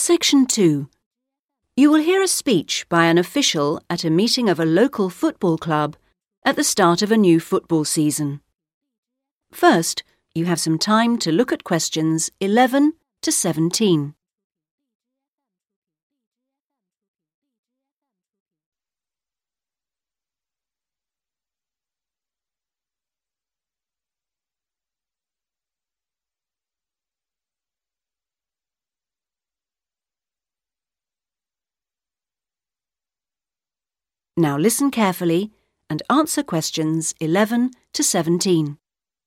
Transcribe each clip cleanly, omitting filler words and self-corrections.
Section 2. You will hear a speech by an official at a meeting of a local football club at the start of a new football season. First, you have some time to look at questions 11 to 17. Now listen carefully and answer questions 11 to 17.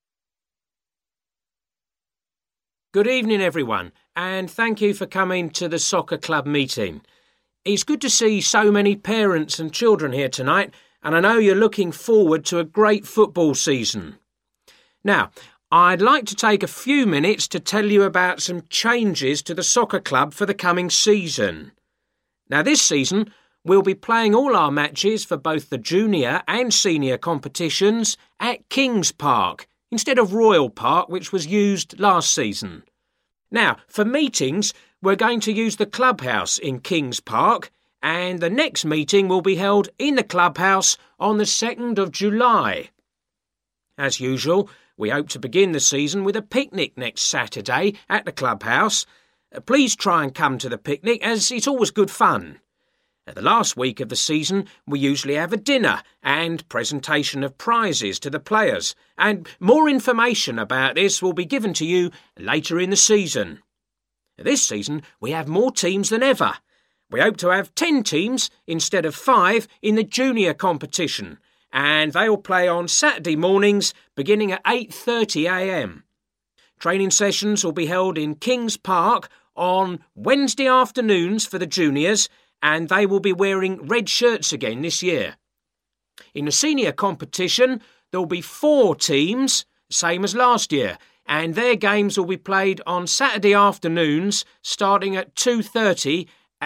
Good evening, everyone, and thank you for coming to the soccer club meeting. It's good to see so many parents and children here tonight, and I know you're looking forward to a great football season. Now, I'd like to take a few minutes to tell you about some changes to the soccer club for the coming season. Now, this season, we'll be playing all our matches for both the junior and senior competitions at Kings Park, instead of Royal Park, which was used last season. Now, for meetings, we're going to use the clubhouse in Kings Park, and the next meeting will be held in the clubhouse on the 2nd of July. As usual, we hope to begin the season with a picnic next Saturday at the clubhouse. Please try and come to the picnic, as it's always good fun. At the last week of the season, we usually have a dinner and presentation of prizes to the players, and more information about this will be given to you later in the season. This season, we have more teams than ever. We hope to have 10 teams instead of 5 in the junior competition, and they will play on Saturday mornings beginning at 8:30 a.m. Training sessions will be held in Kings Park on Wednesday afternoons for the juniors, and they will be wearing red shirts again this year. In the senior competition, there will be 4 teams, same as last year, and their games will be played on Saturday afternoons starting at 2:30.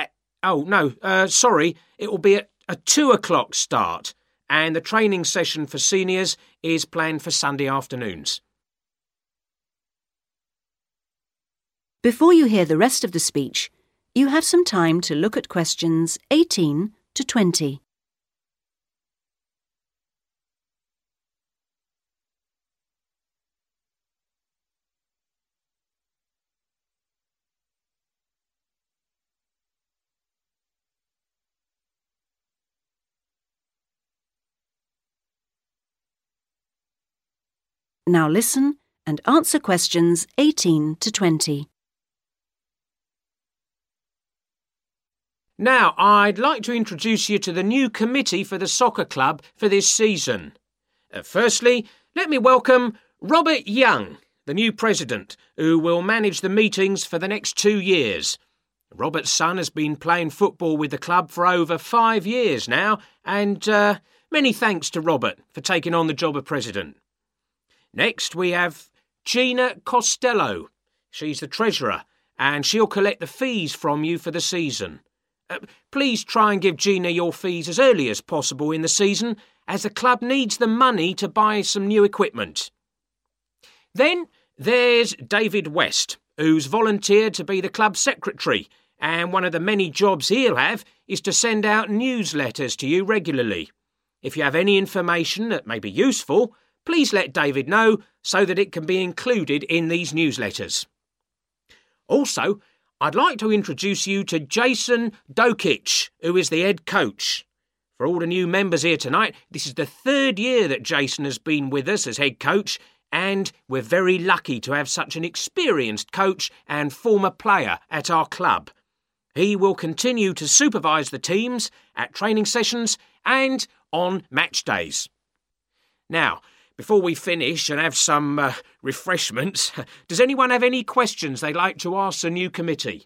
It will be at a 2 o'clock start, and the training session for seniors is planned for Sunday afternoons. Before you hear the rest of the speech, you have some time to look at questions 18 to 20. Now listen and answer questions 18 to 20. Now, I'd like to introduce you to the new committee for the soccer club for this season. Firstly, let me welcome Robert Young, the new president, who will manage the meetings for the next 2 years. Robert's son has been playing football with the club for over 5 years now, and many thanks to Robert for taking on the job of president. Next, we have Gina Costello. She's the treasurer, and she'll collect the fees from you for the season. Please try and give Gina your fees as early as possible in the season, as the club needs the money to buy some new equipment. Then there's David West, who's volunteered to be the club secretary, and one of the many jobs he'll have is to send out newsletters to you regularly. If you have any information that may be useful, please let David know so that it can be included in these newsletters. Also, I'd like to introduce you to Jason Dokic, who is the head coach. For all the new members here tonight, this is the 3rd year that Jason has been with us as head coach, and we're very lucky to have such an experienced coach and former player at our club. He will continue to supervise the teams at training sessions and on match days. Now, before we finish and have some refreshments, does anyone have any questions they'd like to ask the new committee?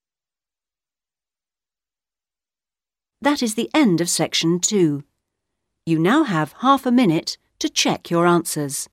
That is the end of Section 2. You now have half a minute to check your answers.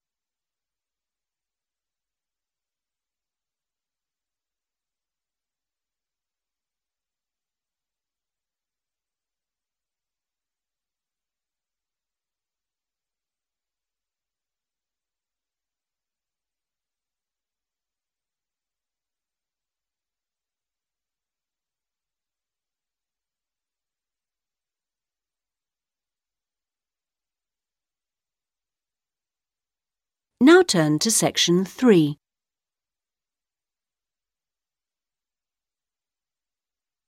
turn to section 3.